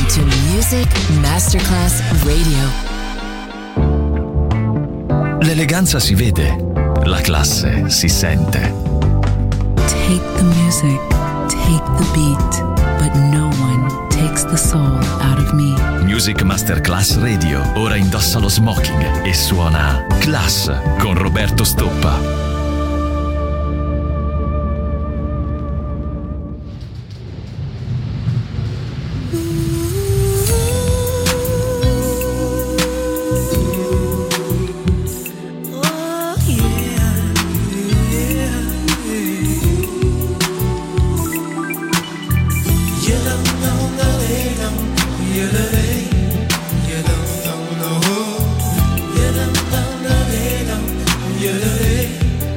to Music Masterclass Radio. L'eleganza si vede, la classe si sente. Take the music, take the beat, but no one takes the soul out of me. Music Masterclass Radio. Ora indossa lo smoking e suona Class con Roberto Stoppa. Yeah.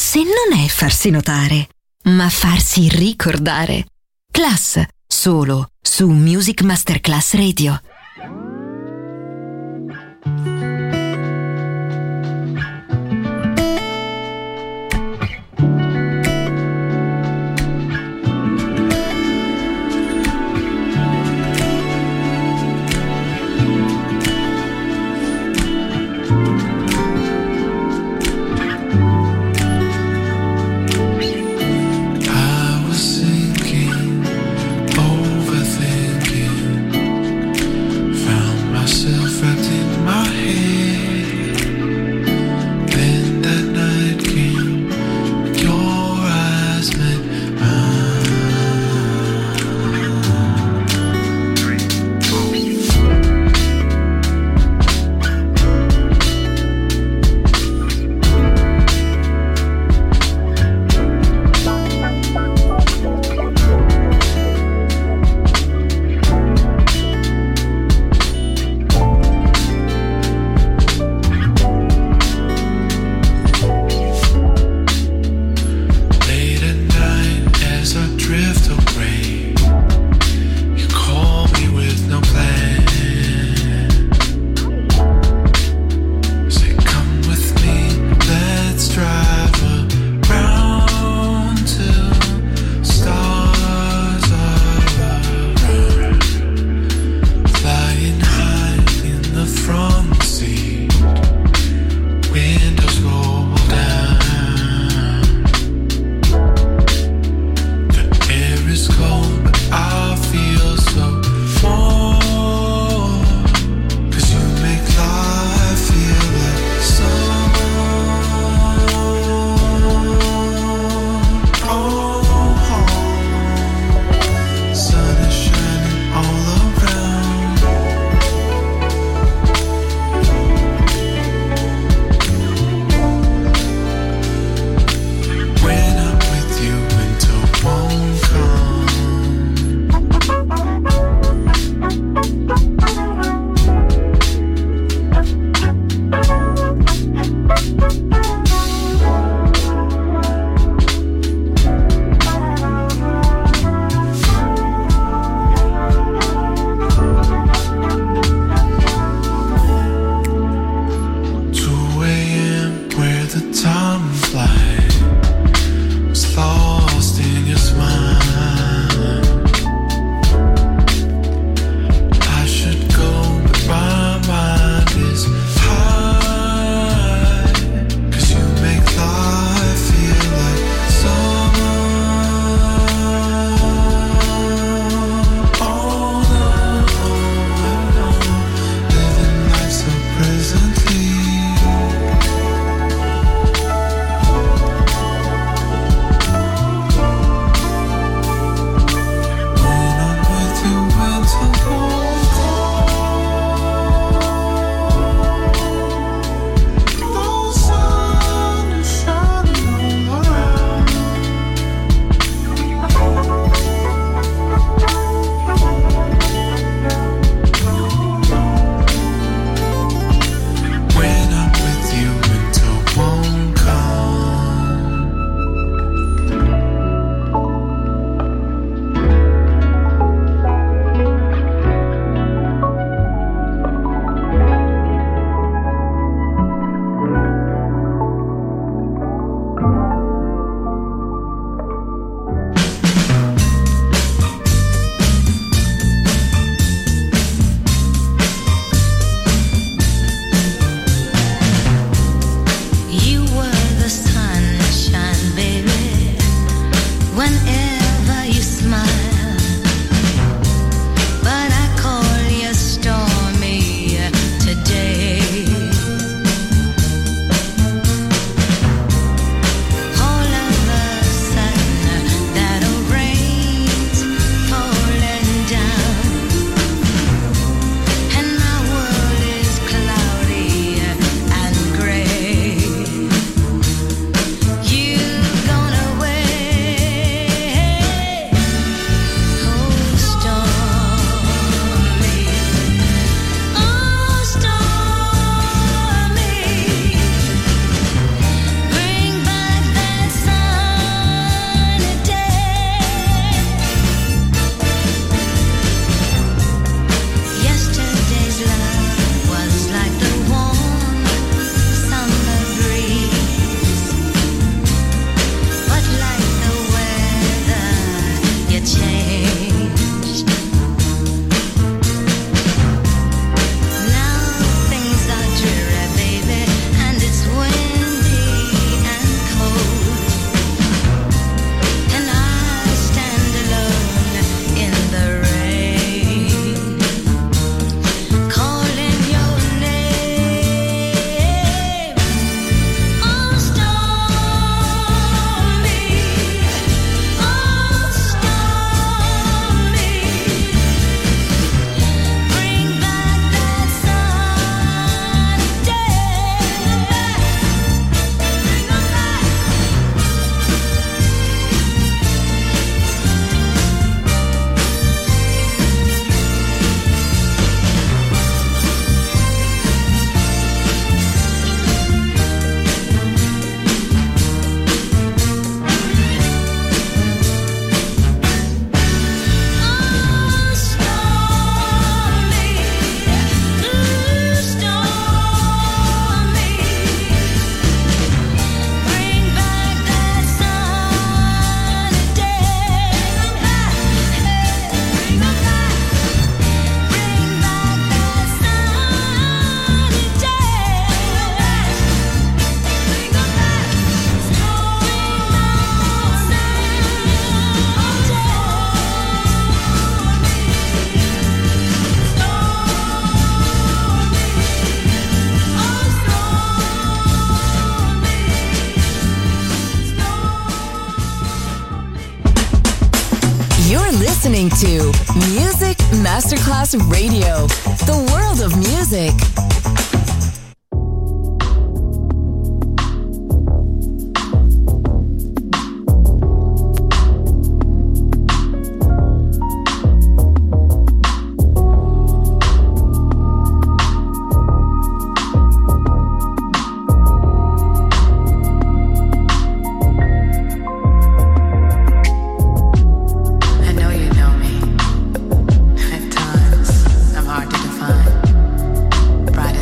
forse non è farsi notare, ma farsi ricordare. Class, solo su Music Masterclass Radio. Overthinking You're listening to Music Masterclass Radio, the world of music. Bright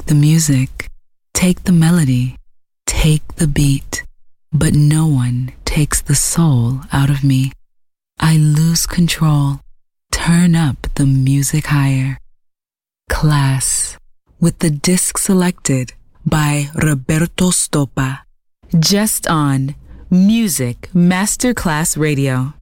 the music, take the melody, take the beat, but no one takes the soul out of me. I lose control. Turn up the music higher. Class, with the disc selected by Roberto Stoppa. Just on Music Masterclass Radio.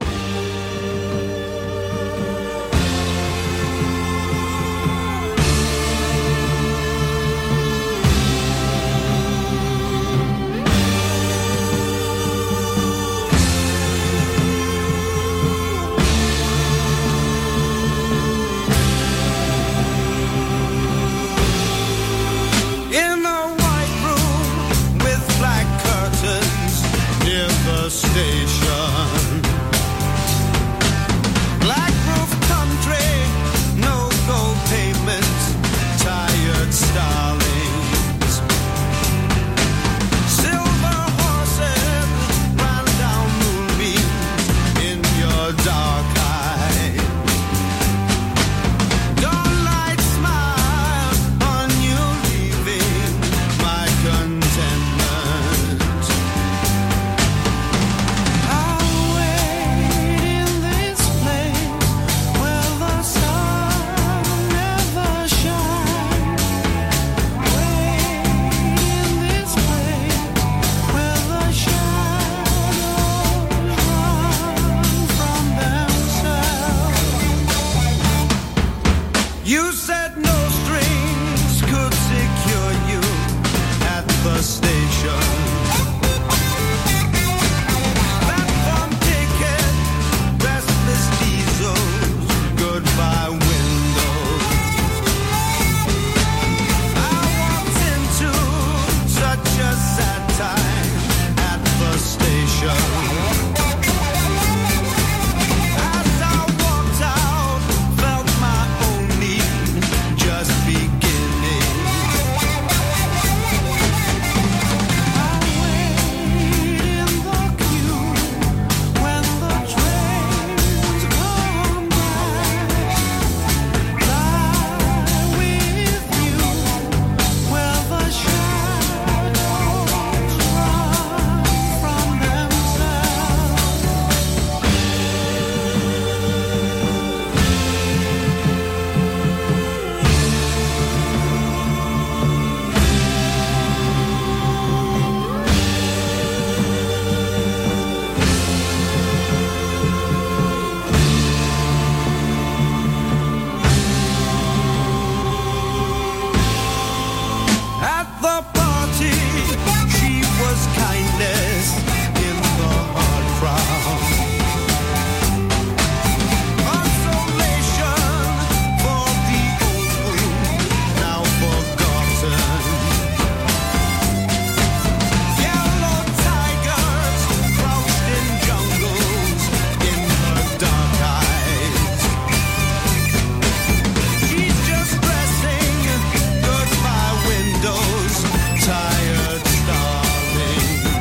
Station, black roof country, no gold pavement, tired starlings, silver horses ran down moonbeams in your dark eye. Dawnlight smile on you leaving my contentment. You said no strings could secure you at the station. Platform ticket, restless diesels, goodbye windows. I walked into such a sad time at the station. Tired starling.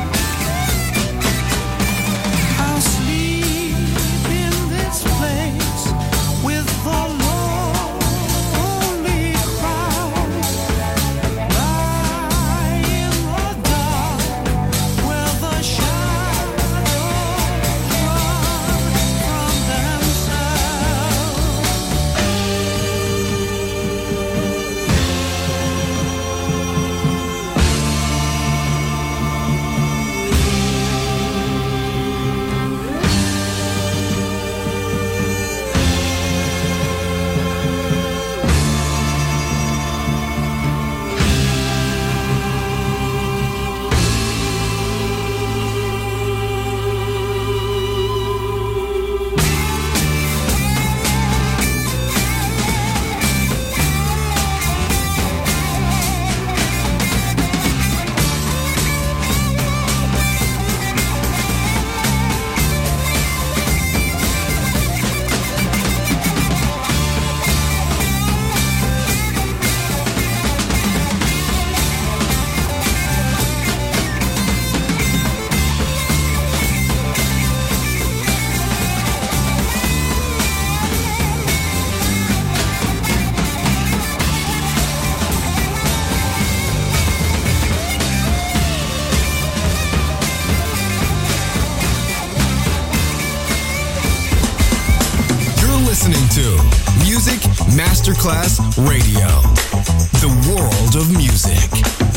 Music Masterclass Radio. The world of music.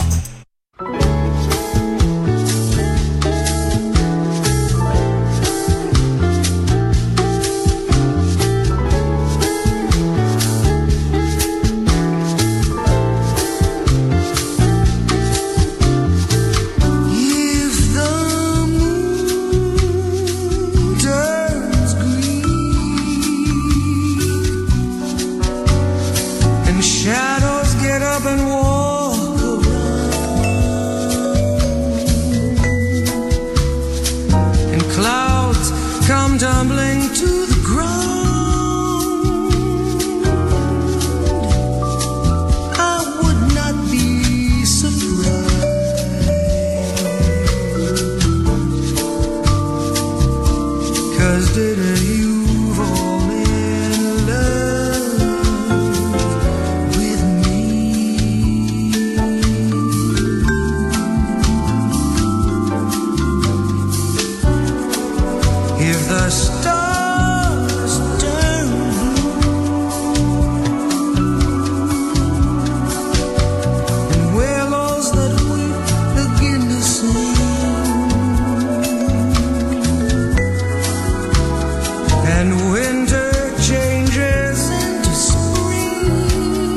Shadows get up and walk around, and clouds come tumbling to the ground. I would not be surprised, 'cause didn't you fall in love with me? If the stars turn blue and willows that weep begin to sing, and winter changes into spring,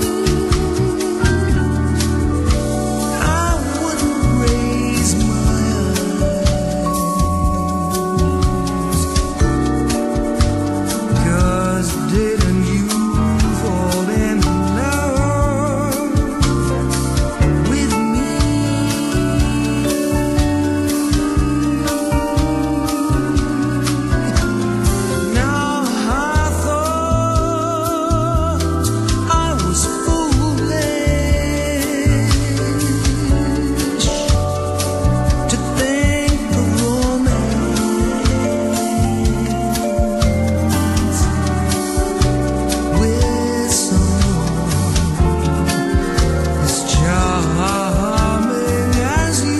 I wouldn't raise my eyes, 'cause didn't you fall in love with me? Now I thought I was foolish to think of romance with someone as charming as you.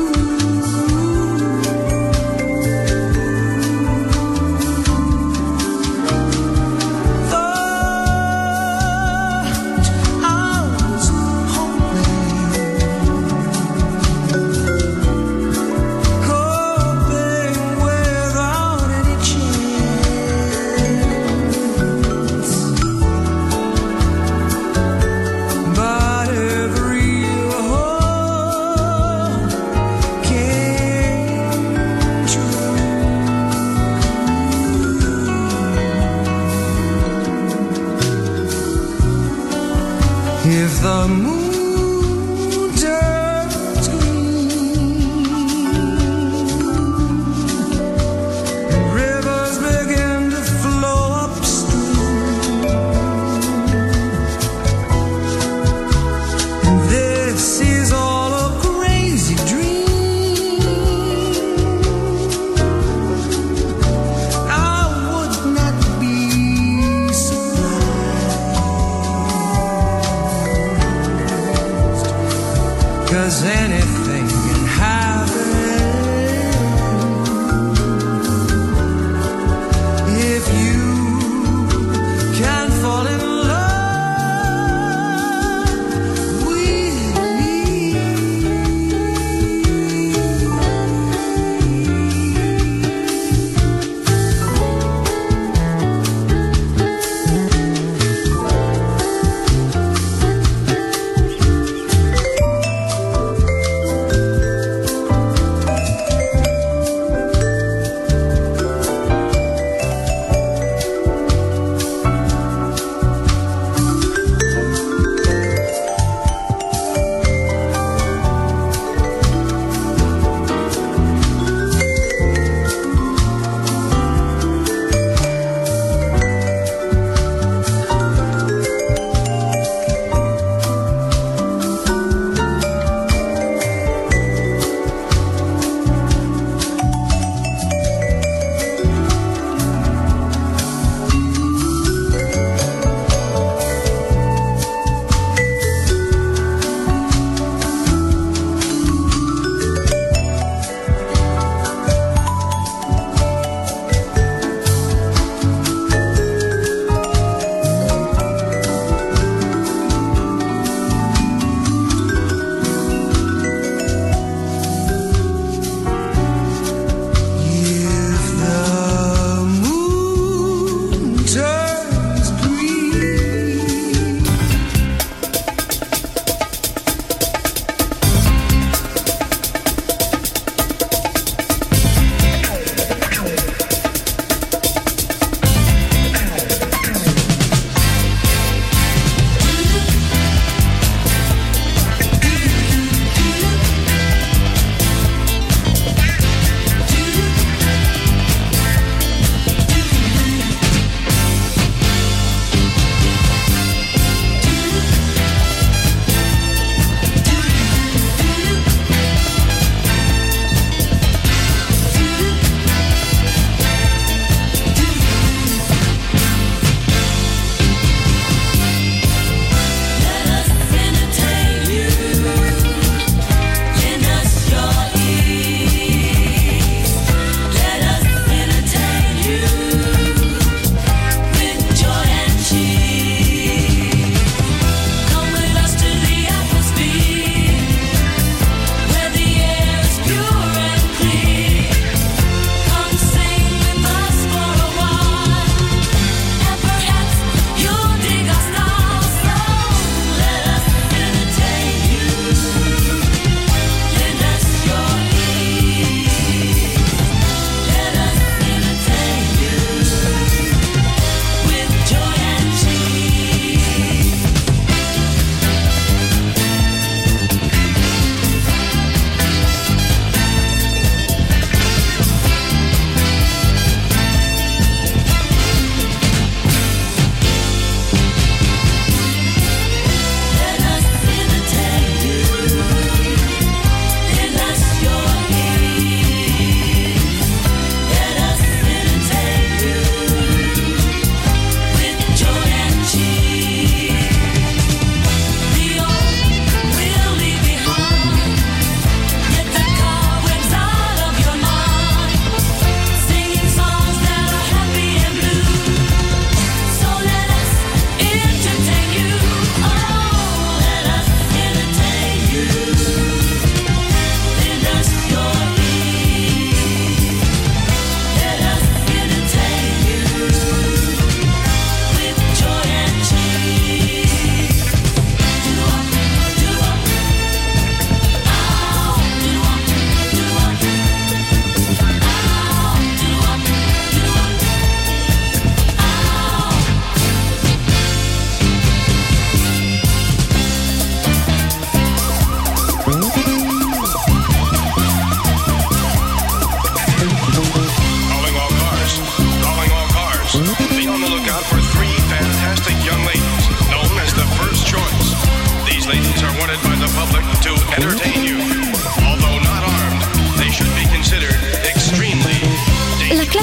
Thought I was hoping without any chance, but every hope came true. If the moon turns green and rivers begin to flow upstream, and this is all a crazy dream, I would not be surprised,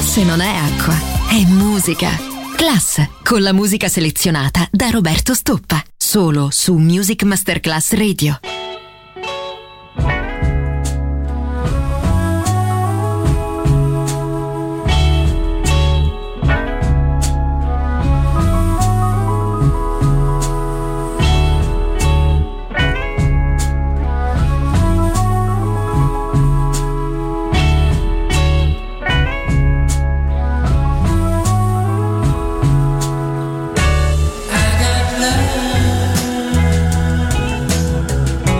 Class non è acqua, è musica. Class, con la musica selezionata da Roberto Stoppa. Solo su Music Masterclass Radio. I got love.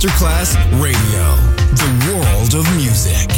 Masterclass Radio, the world of music.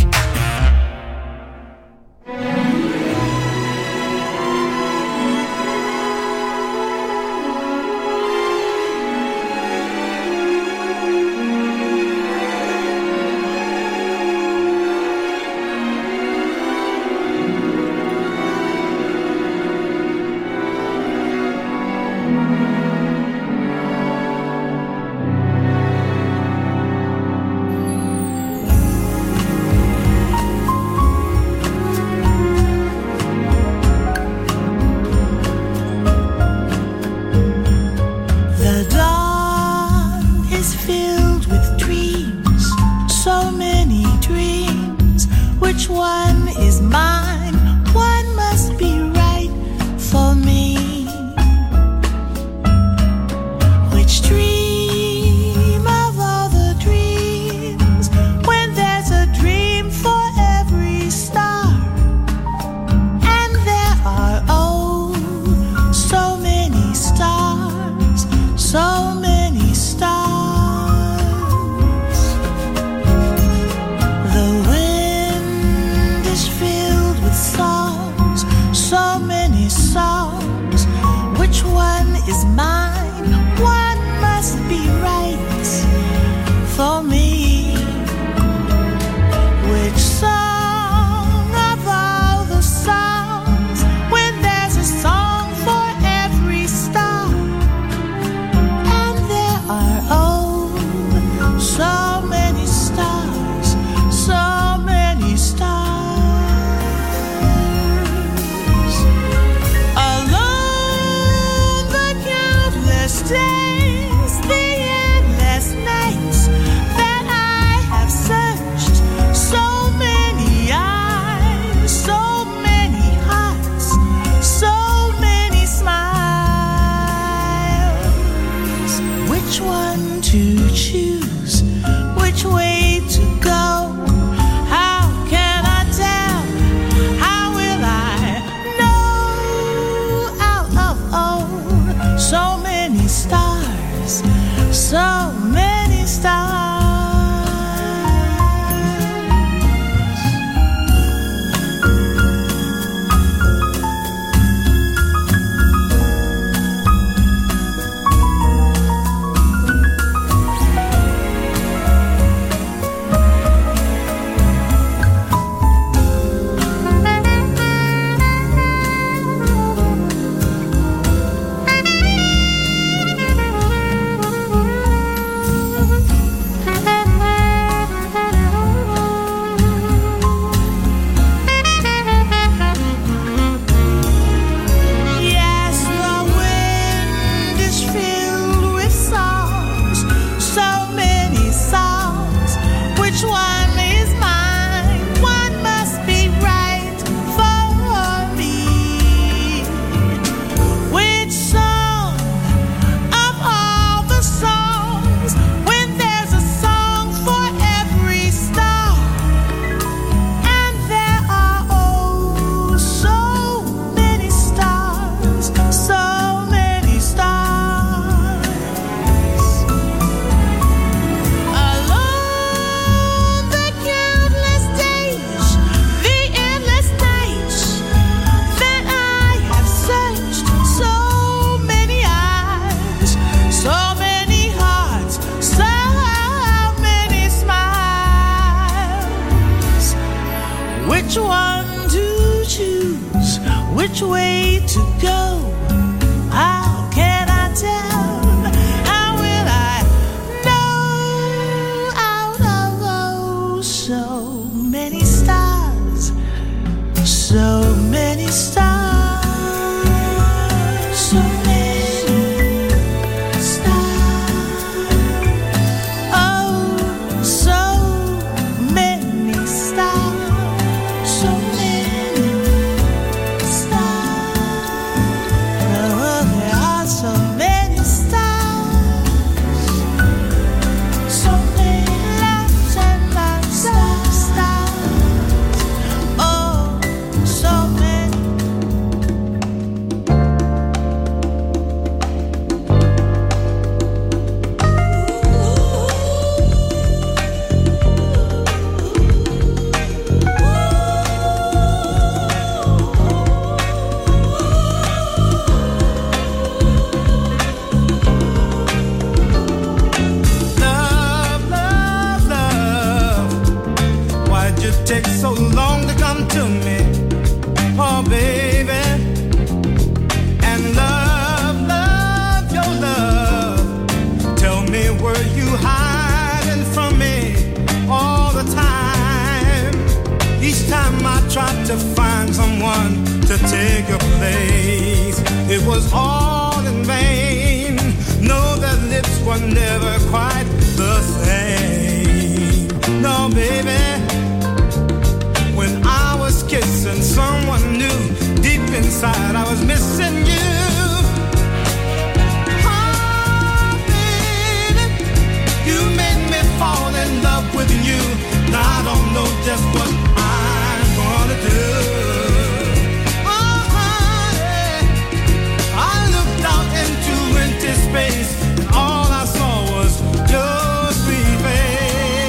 baby. And love, love, your love. Tell me, were you hiding from me all the time? Each time I tried to find someone to take your place, it was all in vain. No, their lips were never quite the same. No, baby, when I was kissing someone new, deep inside I was missing you. Oh, baby, you made me fall in love with you. Now I don't know just what I'm gonna do. Oh, honey, I looked out into empty space, and all I saw was your sweet face.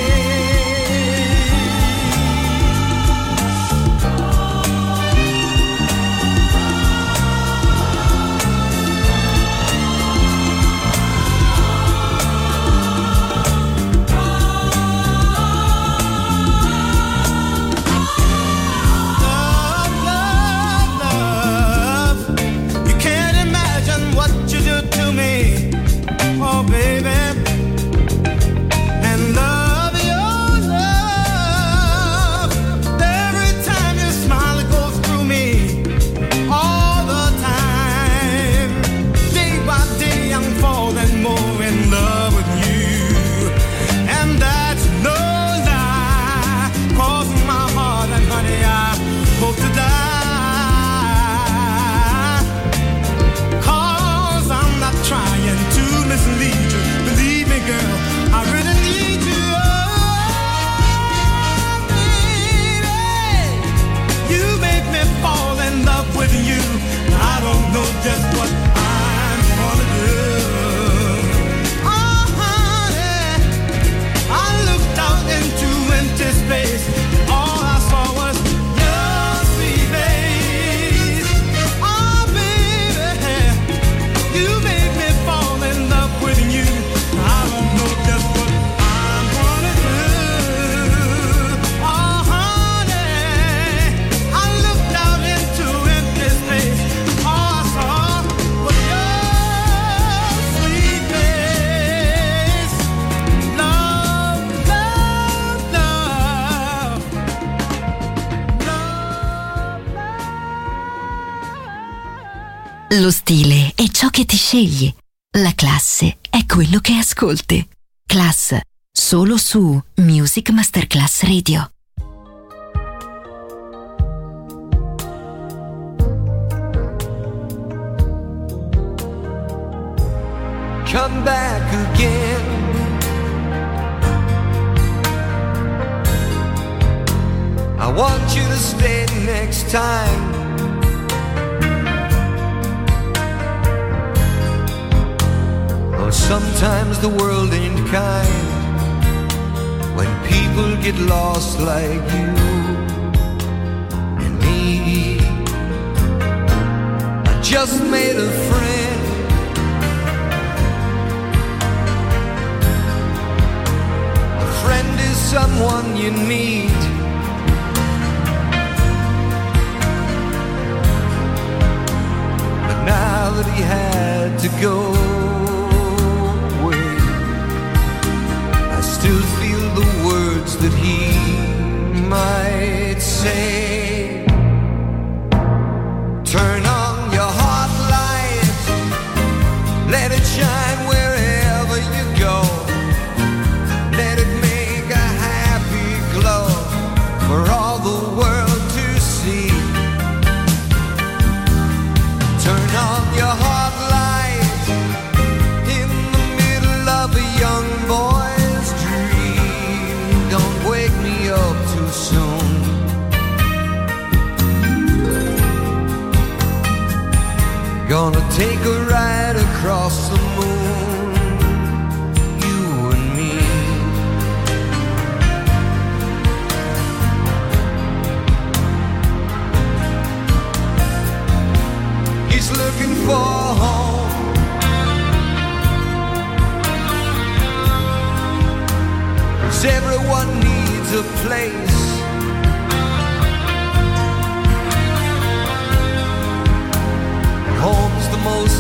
Lo stile è ciò che ti scegli. La classe è quello che ascolti. Class, solo su Music Masterclass Radio. Come back again. I want you to stay next time. Oh, sometimes the world ain't kind when people get lost like you and me. I just made a friend. A friend is someone you need. But now that he had to go, still feel the words that he might say. Turn on your heart light, let it shine wherever you go. Let it make a happy glow for all the world to see. Turn on your heart light in the middle of a young boy. Gonna take a ride across the moon, you and me. He's looking for home, 'cause everyone needs a place.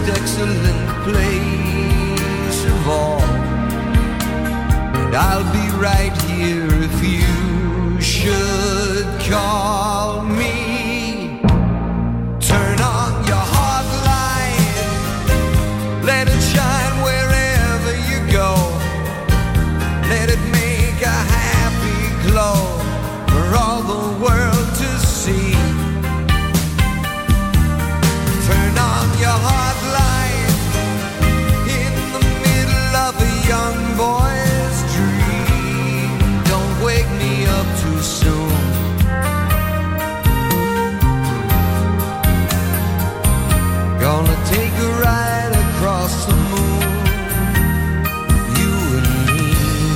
excellent place of all. And I'll be right here if you should call me. Turn on your heart light, let it shine wherever you go. Let it make a happy glow for all the world to see. Turn on your heart light in the middle of a young boy's dream. Don't wake me up too soon. Gonna take a ride across the moon, you and me.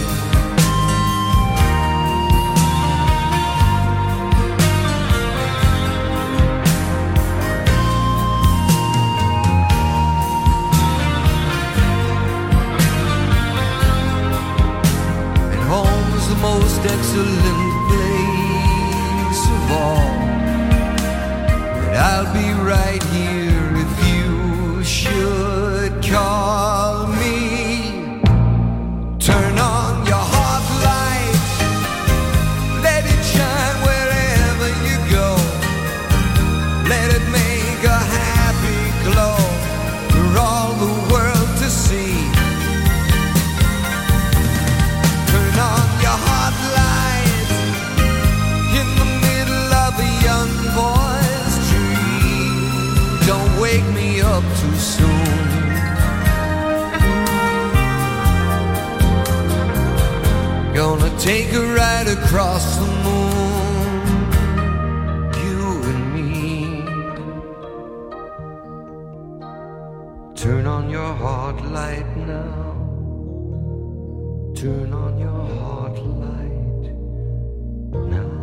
And home's the most excellent place of all. And I'll be right here if you should call me. Turn on your heart light, let it shine wherever you go. Let it make a happy glow for all the world to see. Turn on your heart light in the middle of a young boy's dream. Don't wake me up too soon. Gonna take a ride across the moon, you and me. Turn on your heart light now. Turn on your heart light now.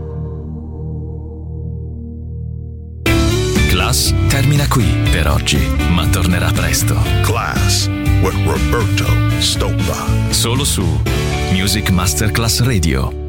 Class termina qui per oggi, ma tornerà presto. Class with Roberto Stoppa. Solo su Music Masterclass Radio.